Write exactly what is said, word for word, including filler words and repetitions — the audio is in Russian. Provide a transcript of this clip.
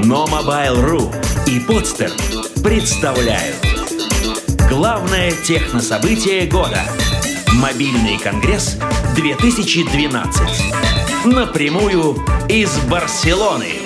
Но Mobile.ru и Podster представляют главное технособытие года – Мобильный конгресс две тысячи двенадцать. Напрямую из Барселоны.